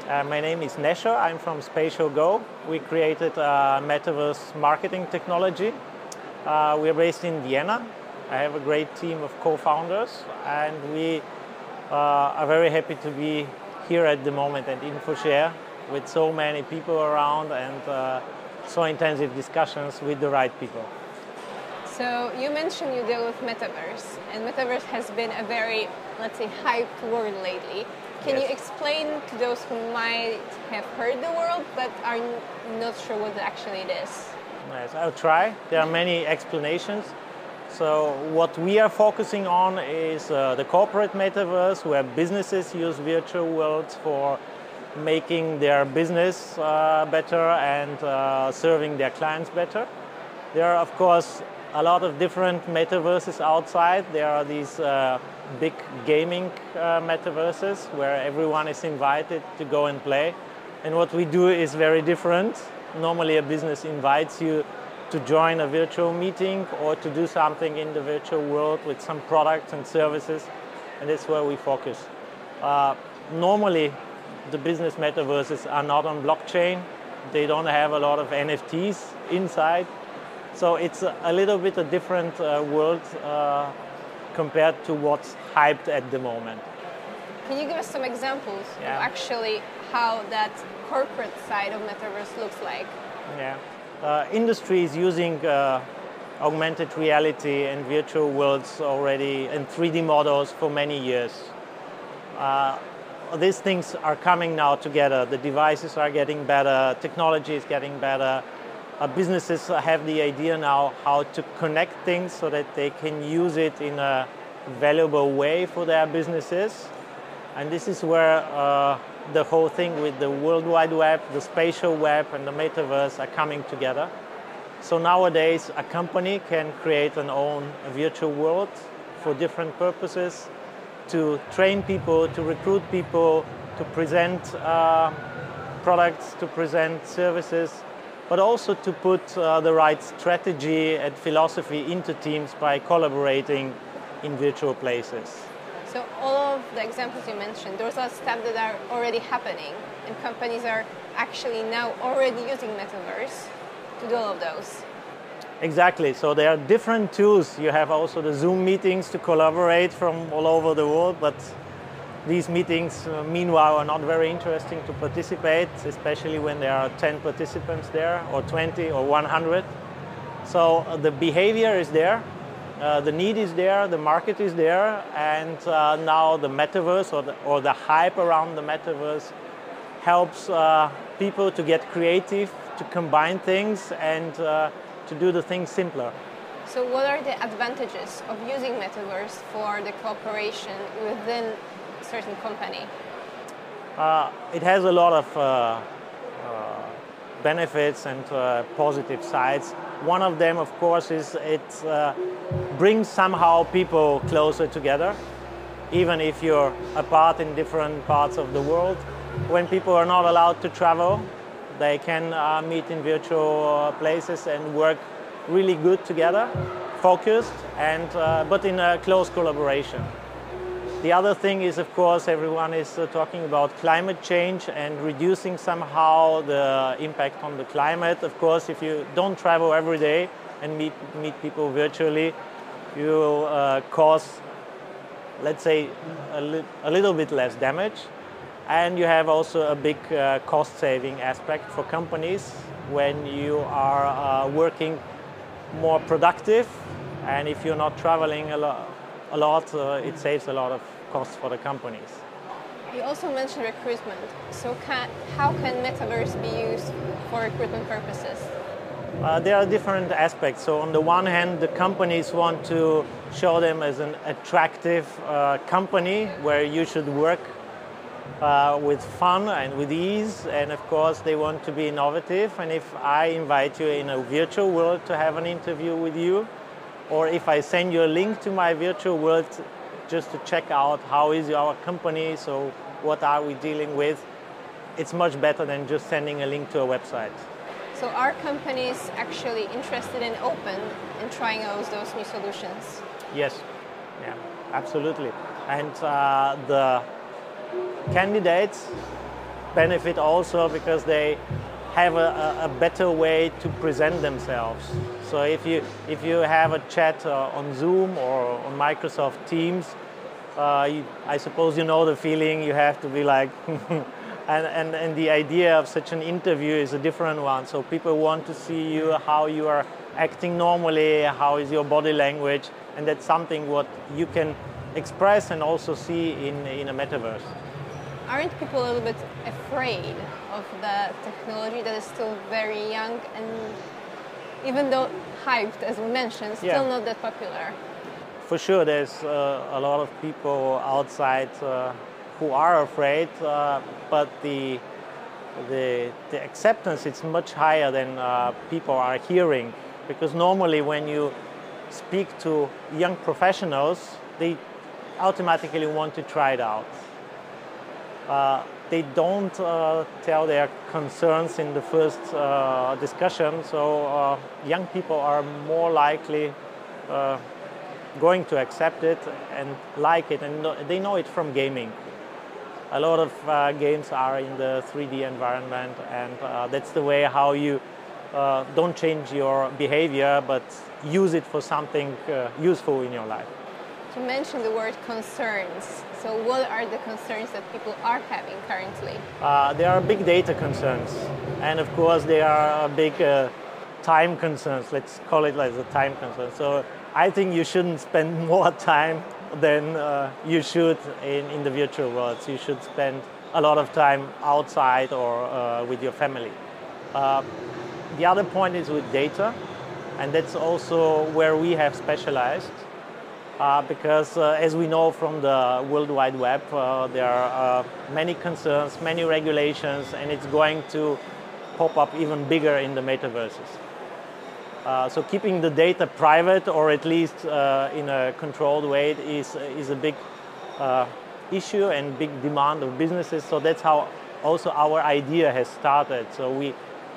My name is Nesho. I'm from Spatial Go. We created metaverse marketing technology. We are based in Vienna. I have a great team of co-founders, and we are very happy to be here at the moment at InfoShare with so many people around and so intensive discussions with the right people. So you mentioned you deal with metaverse, and metaverse has been a very, let's say, hyped word lately. Can you explain to those who might have heard the word but are not sure what actually it is? Yes, I'll try. There are many explanations. So what we are focusing on is the corporate metaverse, where businesses use virtual worlds for making their business better and serving their clients better. There are, of course, a lot of different metaverses outside. There are these big gaming metaverses where everyone is invited to go and play. And what we do is very different. Normally a business invites you to join a virtual meeting or to do something in the virtual world with some products and services, and that's where we focus. Normally the business metaverses are not on blockchain. They don't have a lot of NFTs inside. So it's a little bit a different world compared to what's hyped at the moment. Can you give us some examples of actually how that corporate side of metaverse looks like? Industry is using augmented reality and virtual worlds already and 3D models for many years. These things are coming now together. The devices are getting better, technology is getting better. Businesses have the idea now how to connect things so that they can use it in a valuable way for their businesses. And this is where the whole thing with the World Wide Web, the spatial web, and the metaverse are coming together. So nowadays, a company can create an own virtual world for different purposes, to train people, to recruit people, to present products, to present services, but also to put the right strategy and philosophy into teams by collaborating in virtual places. So all of the examples you mentioned, those are steps that are already happening, and companies are actually now already using metaverse to do all of those. Exactly. So there are different tools. You have also the Zoom meetings to collaborate from all over the world, but these meetings, meanwhile, are not very interesting to participate, especially when there are 10 participants there, or 20, or 100. So the behavior is there, the need is there, the market is there, and now the metaverse or the hype around the metaverse helps people to get creative, to combine things, and to do the things simpler. So what are the advantages of using metaverse for the cooperation within certain company? It has a lot of benefits and positive sides. One of them, of course, is it brings somehow people closer together, even if you're apart in different parts of the world. When people are not allowed to travel, they can meet in virtual places and work really good together, focused, and but in a close collaboration. The other thing is, of course, everyone is talking about climate change and reducing somehow the impact on the climate. Of course, if you don't travel every day and meet people virtually, you will cause, let's say, a little bit less damage. And you have also a big cost-saving aspect for companies when you are working more productive, and if you're not traveling a lot, it saves a lot of costs for the companies. You also mentioned recruitment. So how can metaverse be used for recruitment purposes? There are different aspects. So on the one hand, the companies want to show them as an attractive company where you should work with fun and with ease, and of course they want to be innovative. And if I invite you in a virtual world to have an interview with you, or if I send you a link to my virtual world just to check out how is our company, so what are we dealing with, it's much better than just sending a link to a website. So are companies actually interested and open in trying out those new solutions? Yes, yeah, absolutely. And the candidates, benefit also because they have a better way to present themselves. So if you have a chat on Zoom or on Microsoft Teams, I suppose you know the feeling. You have to be like, and the idea of such an interview is a different one. So people want to see you, how you are acting normally, how is your body language, and that's something what you can express and also see in a metaverse. Aren't people a little bit afraid of the technology that is still very young and even though hyped, as we mentioned, still not that popular? For sure, there's a lot of people outside who are afraid, but the acceptance is much higher than people are hearing. Because normally when you speak to young professionals, they automatically want to try it out. They don't tell their concerns in the first discussion, so young people are more likely going to accept it and like it, and they know it from gaming. A lot of games are in the 3D environment, and that's the way how you don't change your behavior, but use it for something useful in your life. You mentioned the word concerns. So what are the concerns that people are having currently? There are big data concerns, and of course there are big time concerns. Let's call it like the time concern. So I think you shouldn't spend more time than you should in the virtual world. So you should spend a lot of time outside or with your family. The other point is with data, and that's also where we have specialized. Because as we know from the World Wide Web, there are many concerns, many regulations, and it's going to pop up even bigger in the metaverses. So keeping the data private, or at least in a controlled way, is a big issue and big demand of businesses. So that's how also our idea has started. So we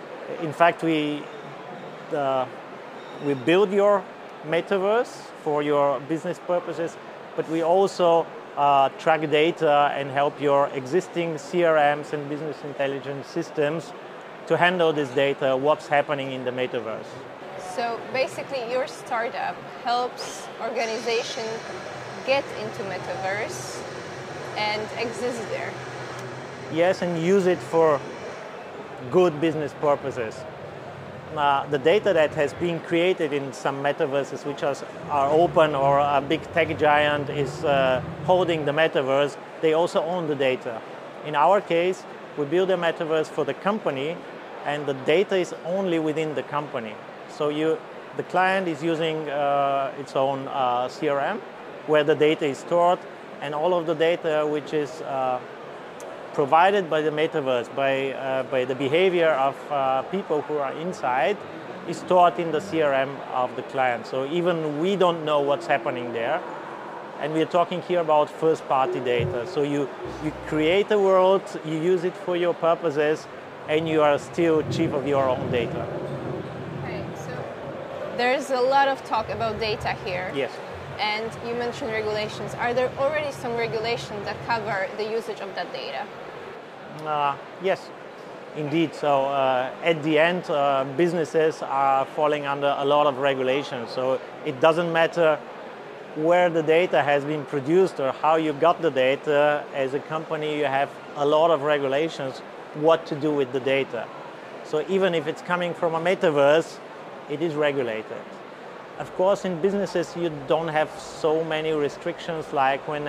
build your metaverse for your business purposes, but we also track data and help your existing CRMs and business intelligence systems to handle this data, what's happening in the metaverse. So basically your startup helps organizations get into metaverse and exist there. Yes, and use it for good business purposes. The data that has been created in some metaverses which are open, or a big tech giant is holding the metaverse, they also own the data. In our case, we build a metaverse for the company, and the data is only within the company. So the client is using its own CRM where the data is stored, and all of the data which is provided by the metaverse, by the behavior of people who are inside, is stored in the CRM of the client. So even we don't know what's happening there. And we're talking here about first-party data. So you create a world, you use it for your purposes, and you are still chief of your own data. Okay, so there's a lot of talk about data here. Yes. And you mentioned regulations. Are there already some regulations that cover the usage of that data? Yes, indeed. So at the end, businesses are falling under a lot of regulations. So it doesn't matter where the data has been produced or how you got the data. As a company, you have a lot of regulations what to do with the data. So even if it's coming from a metaverse, it is regulated. Of course, in businesses, you don't have so many restrictions like when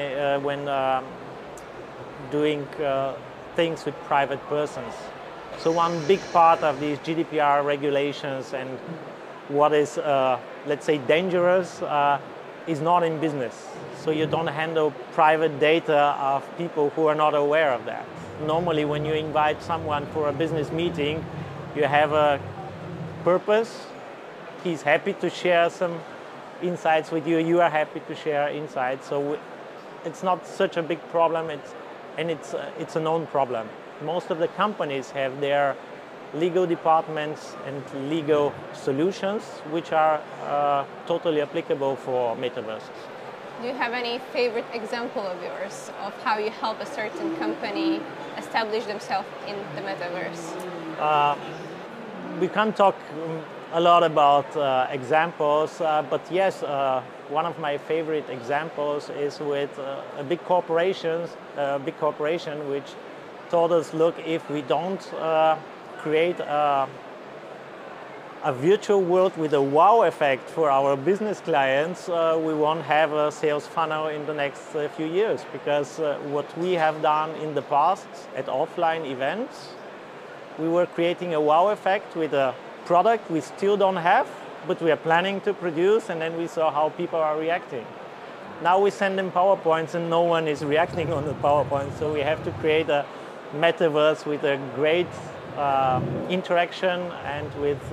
doing things with private persons. So one big part of these GDPR regulations and what is, let's say, dangerous is not in business. So you don't handle private data of people who are not aware of that. Normally, when you invite someone for a business meeting, you have a purpose. He's happy to share some insights with you. You are happy to share insights. So it's not such a big problem. It's a known problem. Most of the companies have their legal departments and legal solutions which are totally applicable for metaverses. Do you have any favorite example of yours of how you help a certain company establish themselves in the metaverse? We can't talk a lot about examples, but yes, one of my favorite examples is with a big corporation which told us, look, if we don't create a virtual world with a wow effect for our business clients, we won't have a sales funnel in the next few years, because what we have done in the past at offline events, we were creating a wow effect with a product we still don't have, but we are planning to produce, and then we saw how people are reacting. Now we send them PowerPoints and no one is reacting on the PowerPoint, so we have to create a metaverse with a great interaction and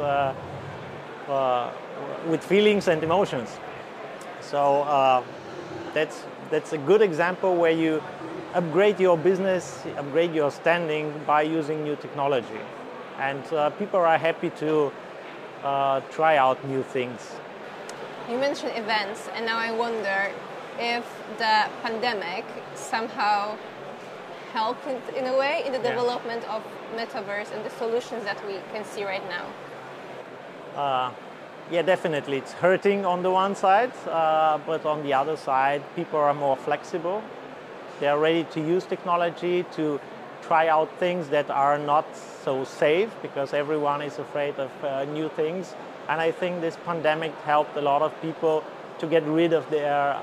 with feelings and emotions. So that's a good example where you upgrade your business, upgrade your standing by using new technology. And people are happy to try out new things. You mentioned events, and now I wonder if the pandemic somehow helped in a way in the development of metaverse and the solutions that we can see right now. Yeah, definitely. It's hurting on the one side, but on the other side, people are more flexible. They are ready to use technology to try out things that are not so safe, because everyone is afraid of new things. And I think this pandemic helped a lot of people to get rid of their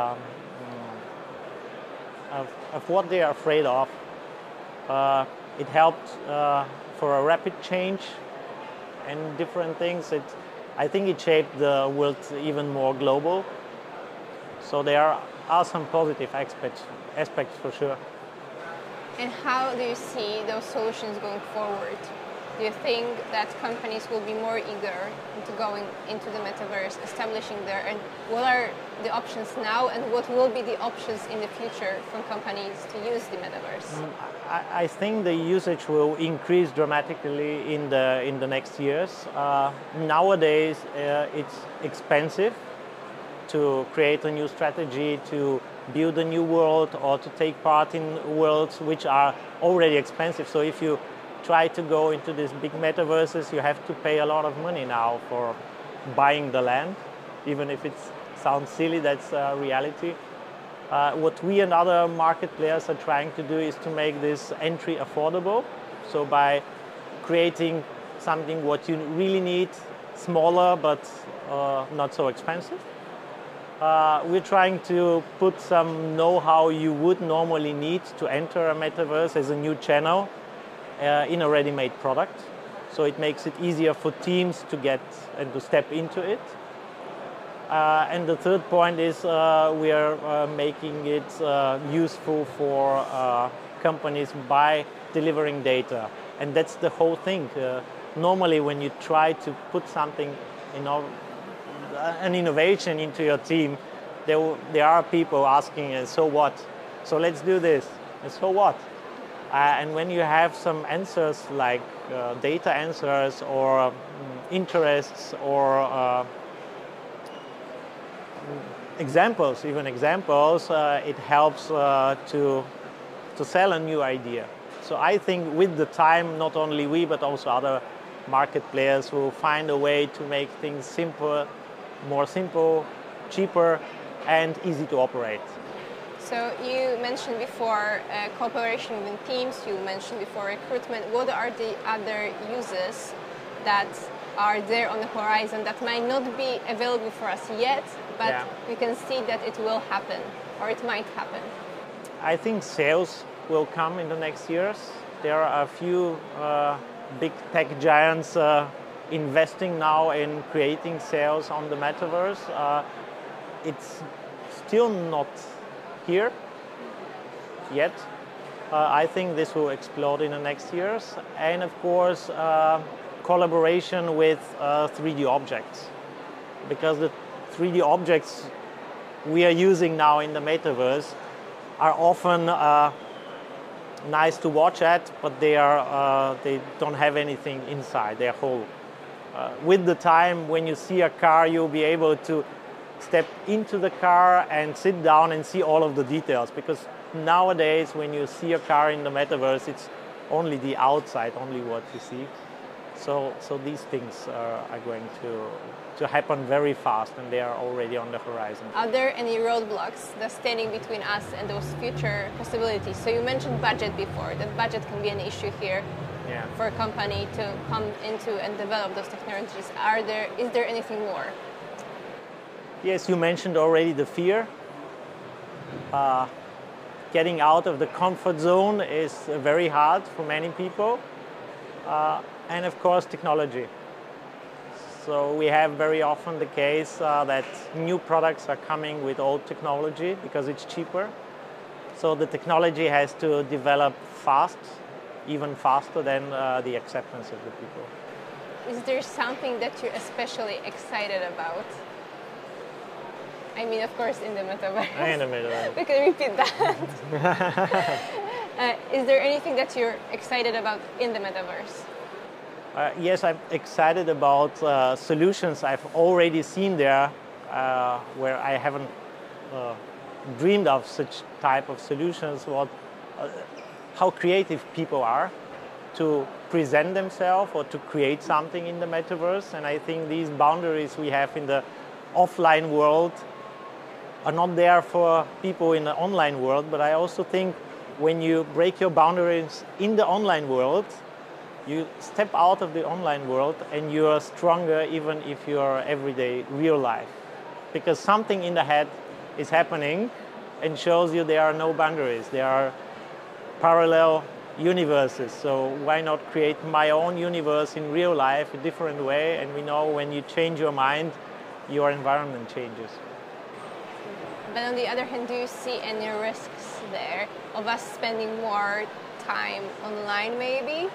of what they are afraid of. It helped for a rapid change and different things. I think it shaped the world even more global. So there are some positive aspects for sure. And how do you see those solutions going forward? Do you think that companies will be more eager into going into the metaverse, establishing there? And what are the options now, and what will be the options in the future from companies to use the metaverse? I think the usage will increase dramatically in the next years. Nowadays, it's expensive to create a new strategy, to build a new world, or to take part in worlds which are already expensive. So if you try to go into these big metaverses, you have to pay a lot of money now for buying the land, even if it sounds silly, that's reality. What we and other market players are trying to do is to make this entry affordable. So by creating something what you really need, smaller but not so expensive. We're trying to put some know-how you would normally need to enter a metaverse as a new channel in a ready-made product. So it makes it easier for teams to get and to step into it. And the third point is we are making it useful for companies by delivering data. And that's the whole thing. Normally when you try to put something, an innovation into your team, there are people asking, so what? So let's do this. And so what? And when you have some answers like data answers or interests or examples, it helps to sell a new idea. So I think with the time, not only we but also other market players will find a way to make things simpler, more simple, cheaper, and easy to operate. So you mentioned before cooperation with teams, you mentioned before recruitment. What are the other uses that are there on the horizon that might not be available for us yet, but we can see that it will happen, or it might happen? I think sales will come in the next years. There are a few big tech giants investing now in creating sales on the metaverse. It's still not here yet. I think this will explode in the next years. And of course, collaboration with 3D objects. Because the 3D objects we are using now in the metaverse are often nice to watch at, but they don't have anything inside, they're whole. With the time, when you see a car, you'll be able to step into the car and sit down and see all of the details, because nowadays when you see a car in the metaverse, it's only the outside, only what you see. So these things are going to happen very fast, and they are already on the horizon. Are there any roadblocks that's standing between us and those future possibilities? So you mentioned budget before, that budget can be an issue here. Yeah. For a company to come into and develop those technologies. Is there anything more? Yes, you mentioned already the fear. Getting out of the comfort zone is very hard for many people. And of course, technology. So we have very often the case that new products are coming with old technology because it's cheaper. So the technology has to develop fast, even faster than the acceptance of the people. Is there something that you're especially excited about? I mean, of course, in the metaverse. In the metaverse. We can repeat that. Is there anything that you're excited about in the metaverse? Yes, I'm excited about solutions I've already seen there where I haven't dreamed of such type of solutions. How creative people are to present themselves or to create something in the metaverse. And I think these boundaries we have in the offline world are not there for people in the online world. But I also think when you break your boundaries in the online world, you step out of the online world and you are stronger even if you are everyday real life. Because something in the head is happening and shows you there are no boundaries. There are parallel universes. So why not create my own universe in real life a different way? And we know when you change your mind, your environment changes. But on the other hand, do you see any risks there of us spending more time online maybe?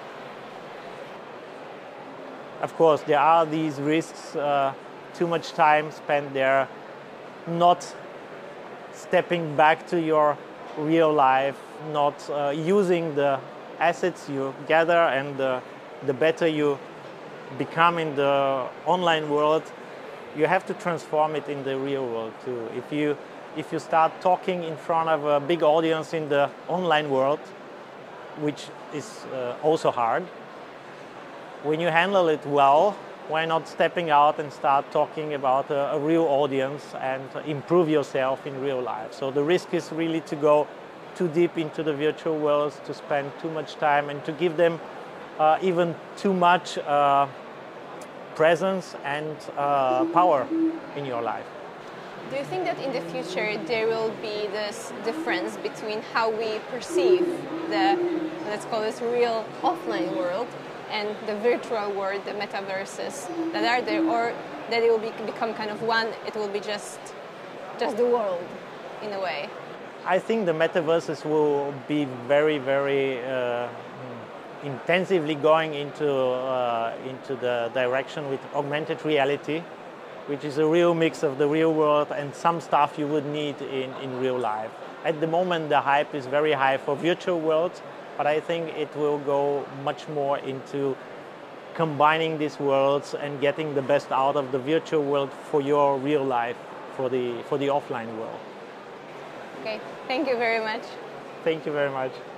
Of course, there are these risks, too much time spent there, not stepping back to your real life, not using the assets you gather, and the better you become in the online world, you have to transform it in the real world too. If you start talking in front of a big audience in the online world, which is also hard, when you handle it well, why not stepping out and start talking about a real audience and improve yourself in real life? So the risk is really to go too deep into the virtual worlds, to spend too much time and to give them even too much presence and power in your life. Do you think that in the future there will be this difference between how we perceive the, let's call this real offline world, and the virtual world, the metaverses that are there, or that it will become kind of one, it will be just the world in a way? I think the metaverses will be very, very intensively going into the direction with augmented reality, which is a real mix of the real world and some stuff you would need in real life. At the moment, the hype is very high for virtual worlds, but I think it will go much more into combining these worlds and getting the best out of the virtual world for your real life, for the offline world. Okay, thank you very much. Thank you very much.